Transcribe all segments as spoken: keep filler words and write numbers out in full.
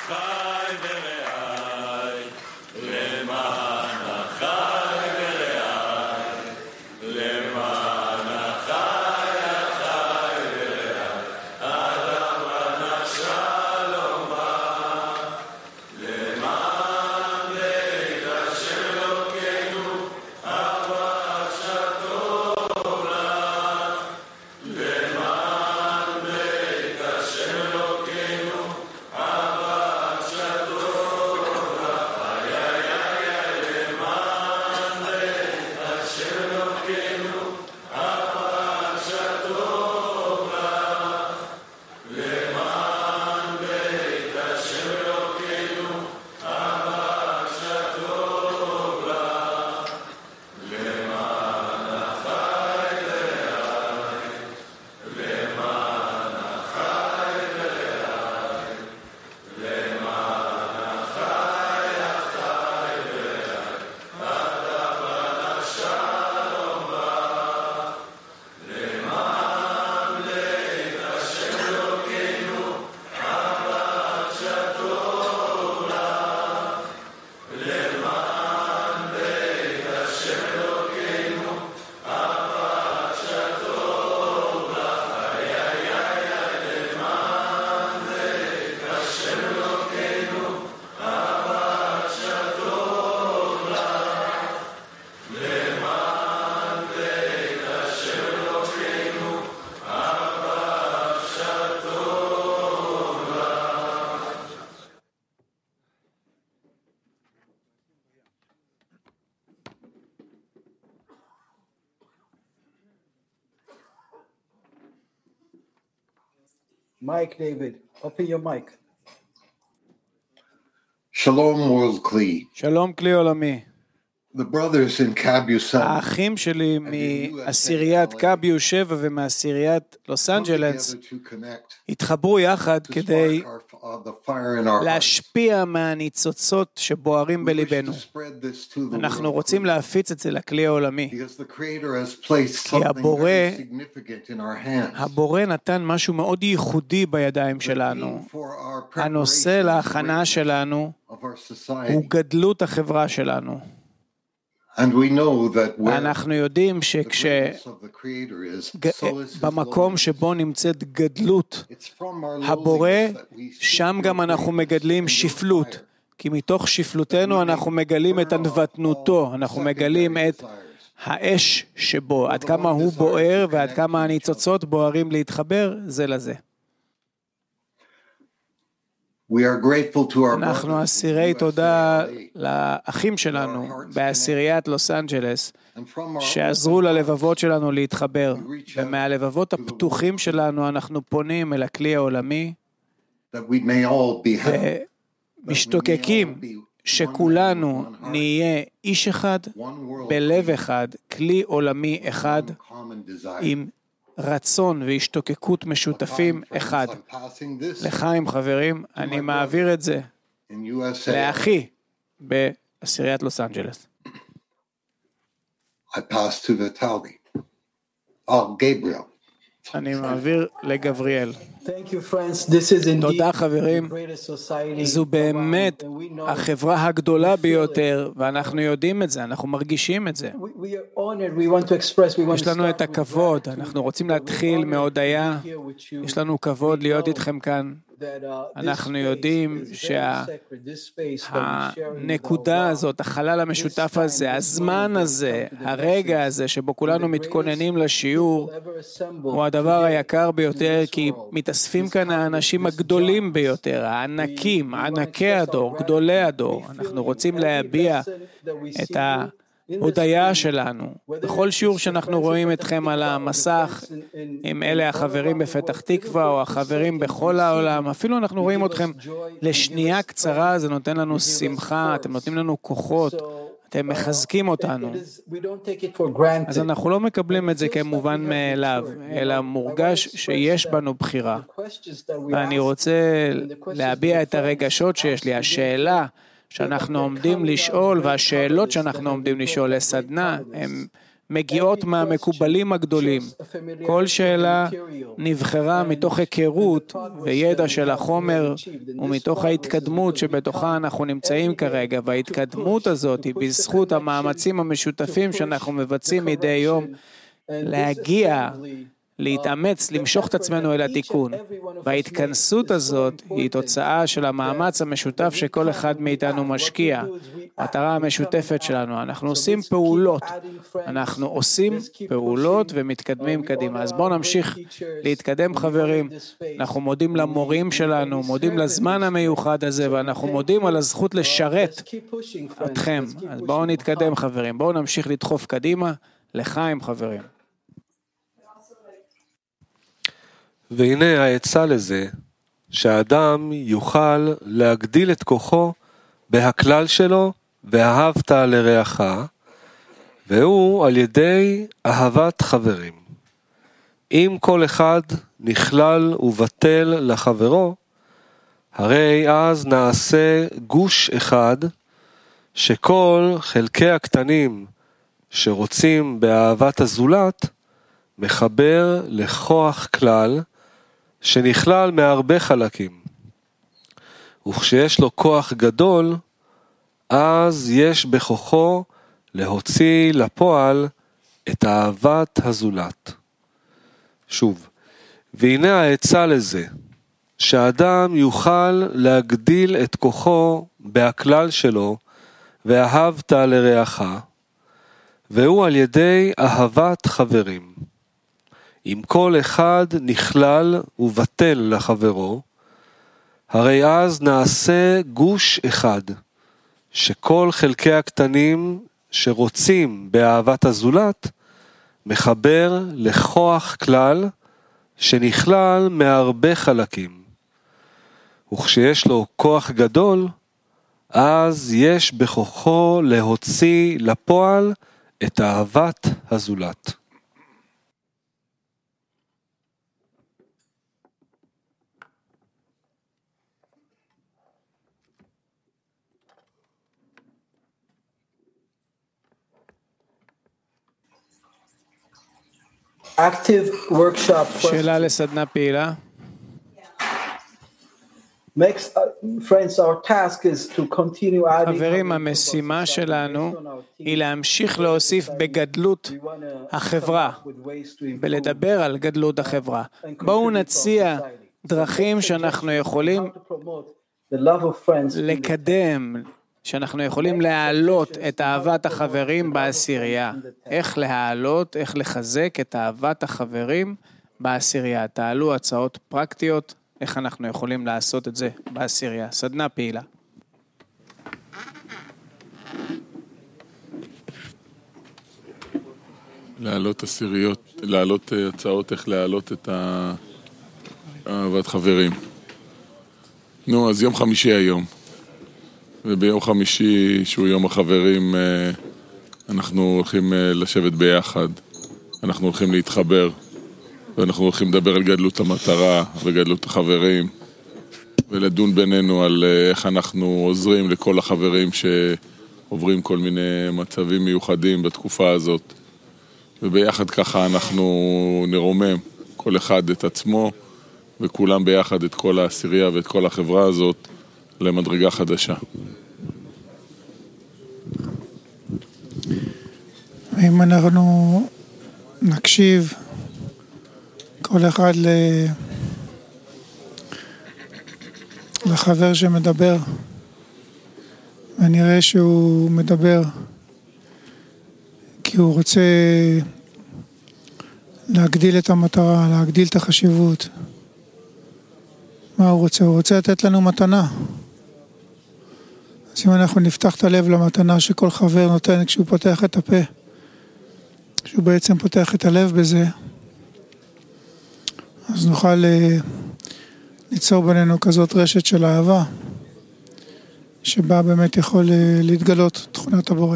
אחי ורעי, למען אחי ורעי, למען אחי אחי ורעי, אדם בנה שלומה, למען בית השם אלוקינו, אהבה שטוב לך, למען בית השם אלוקינו, אהבה שטוב לך, איי איי איי, למען בית השם אלוקינו, אהבה שטוב לך, למען בית השם אלוקינו, אהבה שטוב לך, למען אחי ורעי, למען אחי ורעי, למען אחי אחי ורעי, אדם בנה שלומה, למען בית השם אלוקינו, אהבה שטוב לך, למען בית השם אלוקינו, אהבה שטוב לך, איי איי איי, למען בית השם אלוקינו, אהבה שטוב לך, למען בית השם אלוקינו, אהבה שטוב לך. Mike, David, open your mic. Shalom World Kli. שלום כלי עולמי. The brothers in Kabusan האחים שלי מעשיריית קאביו שבע ומעשיריית לוס אנג'לס התחברו יחד כדי להשפיע מהניצוצות שבוערים בליבנו. אנחנו רוצים להפיץ את זה לכלי העולמי, כי הבורא, הבורא נתן משהו מאוד ייחודי בידיים שלנו. הנושא להכנה שלנו הוא גדלות החברה שלנו. אנחנו יודעים שכשבמקום שבו נמצאת גדלות הבורא, שם גם אנחנו מגדלים שפלות, כי מתוך שפלותנו אנחנו מגלים את ענוותנותו, אנחנו מגלים את האש שבו, עד כמה הוא בוער ועד כמה הניצוצות בוערים להתחבר זה לזה. אנחנו אסירי תודה לאחים שלנו בעשיריית לוס אנג'לס שעזרו ללבבות שלנו להתחבר, ומהלבבות הפתוחים שלנו אנחנו פונים אל הכלי העולמי ומשתוקקים שכולנו נהיה איש אחד בלב אחד, כלי עולמי אחד עם רצון והשתוקקות משותפים אחד. לחיים חברים, אני מעביר את זה לאחי בעשיריית לוס אנג'לס. I pass to Vitaly. Oh, Gabriel. אני מעביר לגבריאל. Thank you, friends. This is indeed תודה חברים, זו באמת החברה הגדולה ביותר, ואנחנו יודעים את זה, אנחנו מרגישים את זה. יש לנו את הכבוד, אנחנו רוצים להתחיל מהודיה, יש לנו כבוד להיות איתכם כאן. אנחנו יודעים שהנקודה הזאת, החלל המשותף הזה, הזמן הזה, הרגע הזה שבו כולנו מתכוננים לשיעור, הוא הדבר היקר ביותר, כי מתאספים כאן האנשים הגדולים ביותר, הענקים, ענקי הדור, גדולי הדור. אנחנו רוצים להביע את ההודיה שלנו. בכל שיעור שאנחנו רואים אתכם על המסך, עם אלה החברים בפתח תקווה או החברים בכל העולם, אפילו אנחנו רואים אתכם לשנייה קצרה, זה נותן לנו שמחה, אתם נותנים לנו כוחות, אתם מחזקים אותנו. אז אנחנו לא מקבלים את זה כמובן מאליו, אלא מורגש שיש בנו בחירה. ואני רוצה להביע את הרגשות שיש לי, השאלה שאנחנו עומדים לשאול, והשאלות שאנחנו עומדים לשאול לסדנה, הם מגיעות מהמקובלים הגדולים. כל שאלה נבחרה מתוך היכרות וידע של החומר ומתוך ההתקדמות שבתוכה אנחנו נמצאים כרגע, וההתקדמות הזאת היא בזכות המאמצים המשותפים שאנחנו מבצעים מדי יום להגיע, להתאמץ, למשוך את עצמנו אל התיקון. וההתכנסות הזאת היא תוצאה של המאמץ המשותף שכל אחד מאיתנו משקיע. המטרה המשותפת שלנו, אנחנו עושים פעולות, אנחנו עושים פעולות ומתקדמים קדימה. אז בואו נמשיך להתקדם חברים. אנחנו מודים למורים שלנו, מודים לזמן המיוחד הזה, ואנחנו מודים על הזכות לשרת אתכם. אז בואו נתקדם חברים, בואו נמשיך לדחוף קדימה, לחיים חברים. והנה העצה לזה, שהאדם יוכל להגדיל את כוחו בהכלל שלו, ואהבת לרעך, והוא על ידי אהבת חברים. אם כל אחד נכלל ובטל לחברו, הרי אז נעשה גוש אחד, שכל חלקי הקטנים שרוצים באהבת הזולת, מחבר לכוח כלל, שנכלל מהרבה חלקים. וכשיש לו כוח גדול, אז יש בכוחו להוציא לפועל את אהבת הזולת. שוב, והנה העצה לזה, שהאדם יוכל להגדיל את כוחו בהכלל שלו, ואהבת לרעך, והוא על ידי אהבת חברים. אם כל אחד נכלל ובטל לחברו, הרי אז נעשה גוש אחד, שכל חלקי הקטנים שרוצים באהבת הזולת, מחבר לכוח כלל שנכלל מהרבה חלקים. וכשיש לו כוח גדול, אז יש בכוחו להוציא לפועל את אהבת הזולת. Active workshop שאלה question. לסדנה פעילה. Next, uh, friends, our task is to continue adding. חברים, המשימה שלנו היא להמשיך להוסיף בגדלות החברה, ולדבר על גדלות החברה. בואו נציע דרכים שאנחנו יכולים לקדם, שאנחנו יכולים להעלות את אהבת החברים בעשירייה. איך להעלות, איך לחזק את אהבת החברים בעשירייה. תעלו הצעות פרקטיות, איך אנחנו יכולים לעשות את זה בעשירייה. סדנה פעילה. להעלות עשיריות, להעלות הצעות איך להעלות את אהבת חברים. נו, אז יום חמישי היום. וביום חמישי, שהוא יום החברים, אנחנו הולכים לשבת ביחד. אנחנו הולכים להתחבר. ואנחנו הולכים לדבר על גדלות המטרה וגדלות החברים. ולדון בינינו על איך אנחנו עוזרים לכל החברים שעוברים כל מיני מצבים מיוחדים בתקופה הזאת. וביחד ככה אנחנו נרומם כל אחד את עצמו, וכולם ביחד את כל העשירייה ואת כל החברה הזאת למדרגה חדשה. אם אנחנו נקשיב כל אחד ל... לחבר שמדבר, ונראה שהוא מדבר כי הוא רוצה להגדיל את המטרה, להגדיל את החשיבות. מה הוא רוצה? הוא רוצה לתת לנו מתנה. אז אם אנחנו נפתח את הלב למתנה שכל חבר נותן כשהוא פותח את הפה, כשהוא בעצם פותח את הלב בזה, אז נוכל ליצור בינינו כזאת רשת של אהבה, שבה באמת יכול להתגלות תכונת הבורא.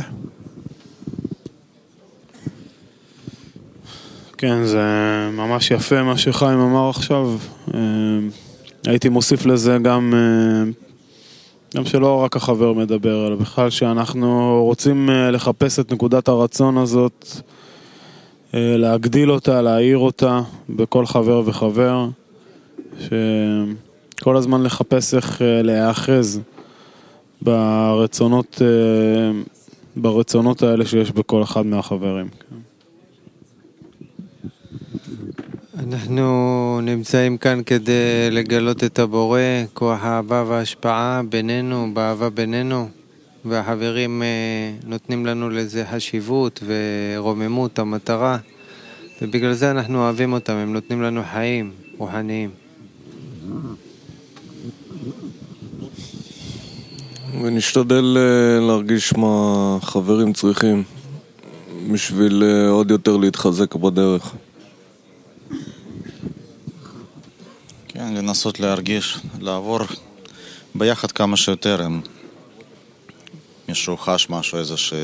כן, זה ממש יפה מה שחיים אמר עכשיו. הייתי מוסיף לזה גם, גם שלא רק החבר מדבר, אלא בכלל שאנחנו רוצים לחפש את נקודת הרצון הזאת להגדיל אותה, להעיר אותה בכל חבר וחבר, שכל הזמן לחפש איך להיאחז ברצונות, ברצונות האלה שיש בכל אחד מהחברים. אנחנו נמצאים כאן כדי לגלות את הבורא, כוח האהבה וההשפעה בינינו, באהבה בינינו, והחברים נותנים לנו לזה חשיבות ורוממות, המטרה, ובגלל זה אנחנו אוהבים אותם, הם נותנים לנו חיים רוחניים. ונשתדל להרגיש מה חברים צריכים בשביל עוד יותר להתחזק בדרך. כן, לנסות להרגיש, לעבור ביחד כמה שיותר, אם מישהו חש משהו, איזה ש...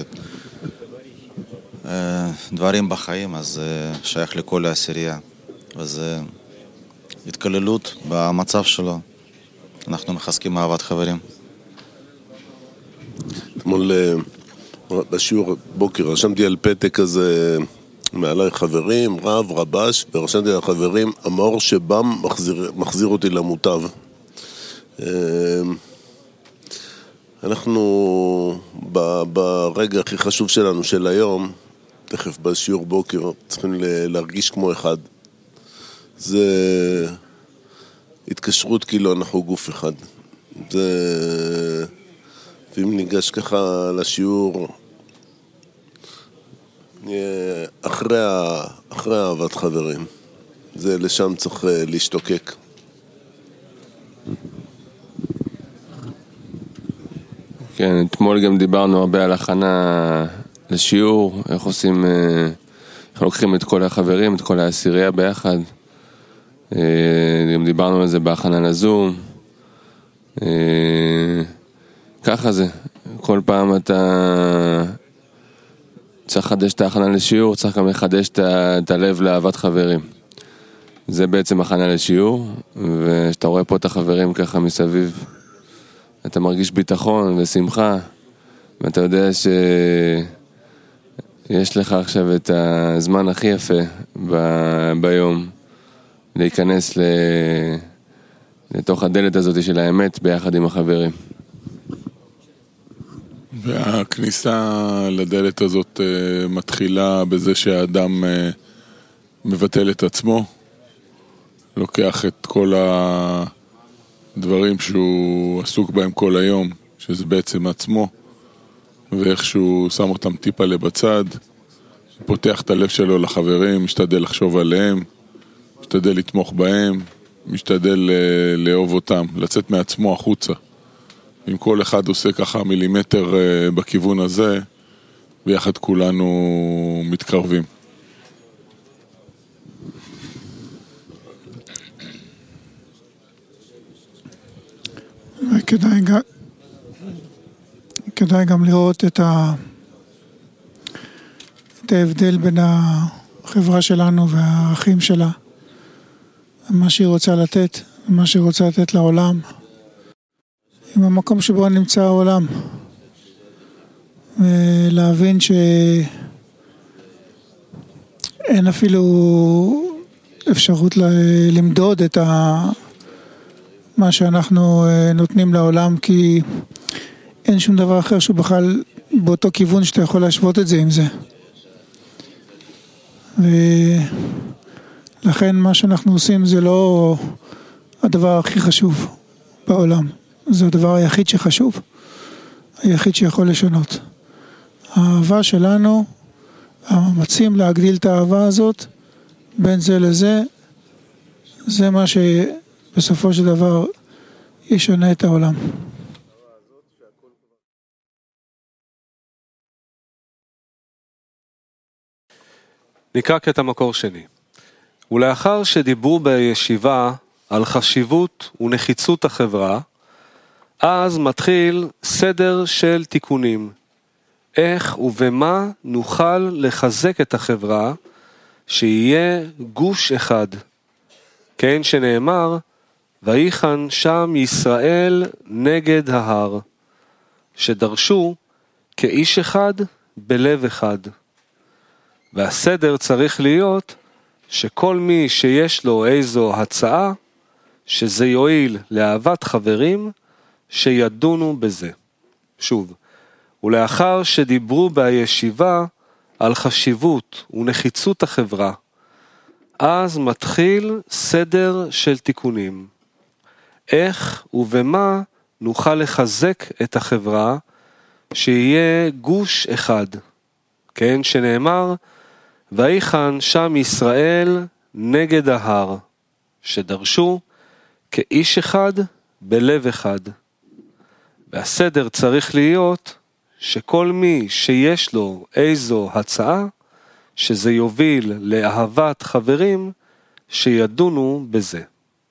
דברים בחיים, אז שייך לכל העשירייה, וזה התקללות במצב שלו. אנחנו מחזקים אהבת חברים. אתמול בשיעור בוקר רשמתי על פתק כזה מעלי חברים, רב, רבש, ורשמתי על חברים, המאור שבם מחזיר, מחזיר אותי למוטב. אנחנו ברגע הכי חשוב שלנו של היום, תכף בשיעור בוקר, צריכים להרגיש כמו אחד. זה התקשרות כאילו אנחנו גוף אחד. זה... ואם ניגש ככה לשיעור, אחרי, אחרי אהבת חברים, זה לשם צריך להשתוקק. כן, אתמול גם דיברנו הרבה על הכנה לשיעור, איך עושים, איך לוקחים את כל החברים, את כל העשירייה ביחד. גם דיברנו על זה בהכנה לזום. ככה זה, כל פעם אתה צריך לחדש את ההכנה לשיעור, צריך גם לחדש את הלב לאהבת חברים. זה בעצם הכנה לשיעור, ושאתה רואה פה את החברים ככה מסביב, אתה מרגיש ביטחון ושמחה, ואתה יודע שיש לך עכשיו את הזמן הכי יפה ב- ביום, להיכנס ל... לתוך הדלת הזאת של האמת ביחד עם החברים. והכניסה לדלת הזאת מתחילה בזה שהאדם מבטל את עצמו, לוקח את כל הדברים שהוא עסוק בהם כל היום, שזה בעצם עצמו, ואיכשהו שם אותם טיפה לבצד, פותח את הלב שלו לחברים, משתדל לחשוב עליהם, משתדל לתמוך בהם, משתדל לאהוב אותם, לצאת מעצמו החוצה. אם כל אחד עושה ככה מילימטר בכיוון הזה, ביחד כולנו מתקרבים. וכדאי גם, כדאי גם לראות את, ה, את ההבדל בין החברה שלנו והערכים שלה, מה שהיא רוצה לתת, מה שהיא רוצה לתת לעולם, עם המקום שבו נמצא העולם, ולהבין שאין אפילו אפשרות למדוד את ה... מה שאנחנו נותנים לעולם, כי אין שום דבר אחר שהוא בכלל באותו כיוון שאתה יכול להשוות את זה עם זה. ולכן מה שאנחנו עושים זה לא הדבר הכי חשוב בעולם. זה הדבר היחיד שחשוב, היחיד שיכול לשנות. האהבה שלנו, המאמצים להגדיל את האהבה הזאת, בין זה לזה, זה מה שבסופו של דבר ישנה את העולם. נקרא קטע מקור שני. ולאחר שדיברו בישיבה על חשיבות ונחיצות החברה, אז מתחיל סדר של תיקונים. איך ובמה נוכל לחזק את החברה שיהיה גוש אחד. כן שנאמר, ויחן שם ישראל נגד ההר, שדרשו כאיש אחד בלב אחד. והסדר צריך להיות שכל מי שיש לו איזו הצעה, שזה יועיל לאהבת חברים, שידונו בזה. שוב, ולאחר שדיברו בישיבה על חשיבות ונחיצות החברה, אז מתחיל סדר של תיקונים. איך ובמה נוכל לחזק את החברה, שיהיה גוש אחד. כן, שנאמר, ויחן שם ישראל נגד ההר, שדרשו כאיש אחד בלב אחד. והסדר צריך להיות שכל מי שיש לו איזו הצעה, שזה יוביל לאהבת חברים, שידונו בזה.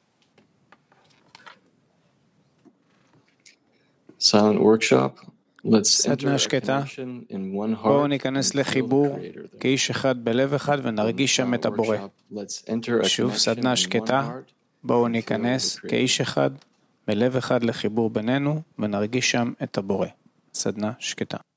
Silent workshop. סדנה שקטה, בואו ניכנס לחיבור כאיש אחד בלב אחד ונרגיש שם את הבורא. שוב, סדנה שקטה, בואו ניכנס כאיש אחד בלב אחד לחיבור בינינו ונרגיש שם את הבורא. סדנה שקטה.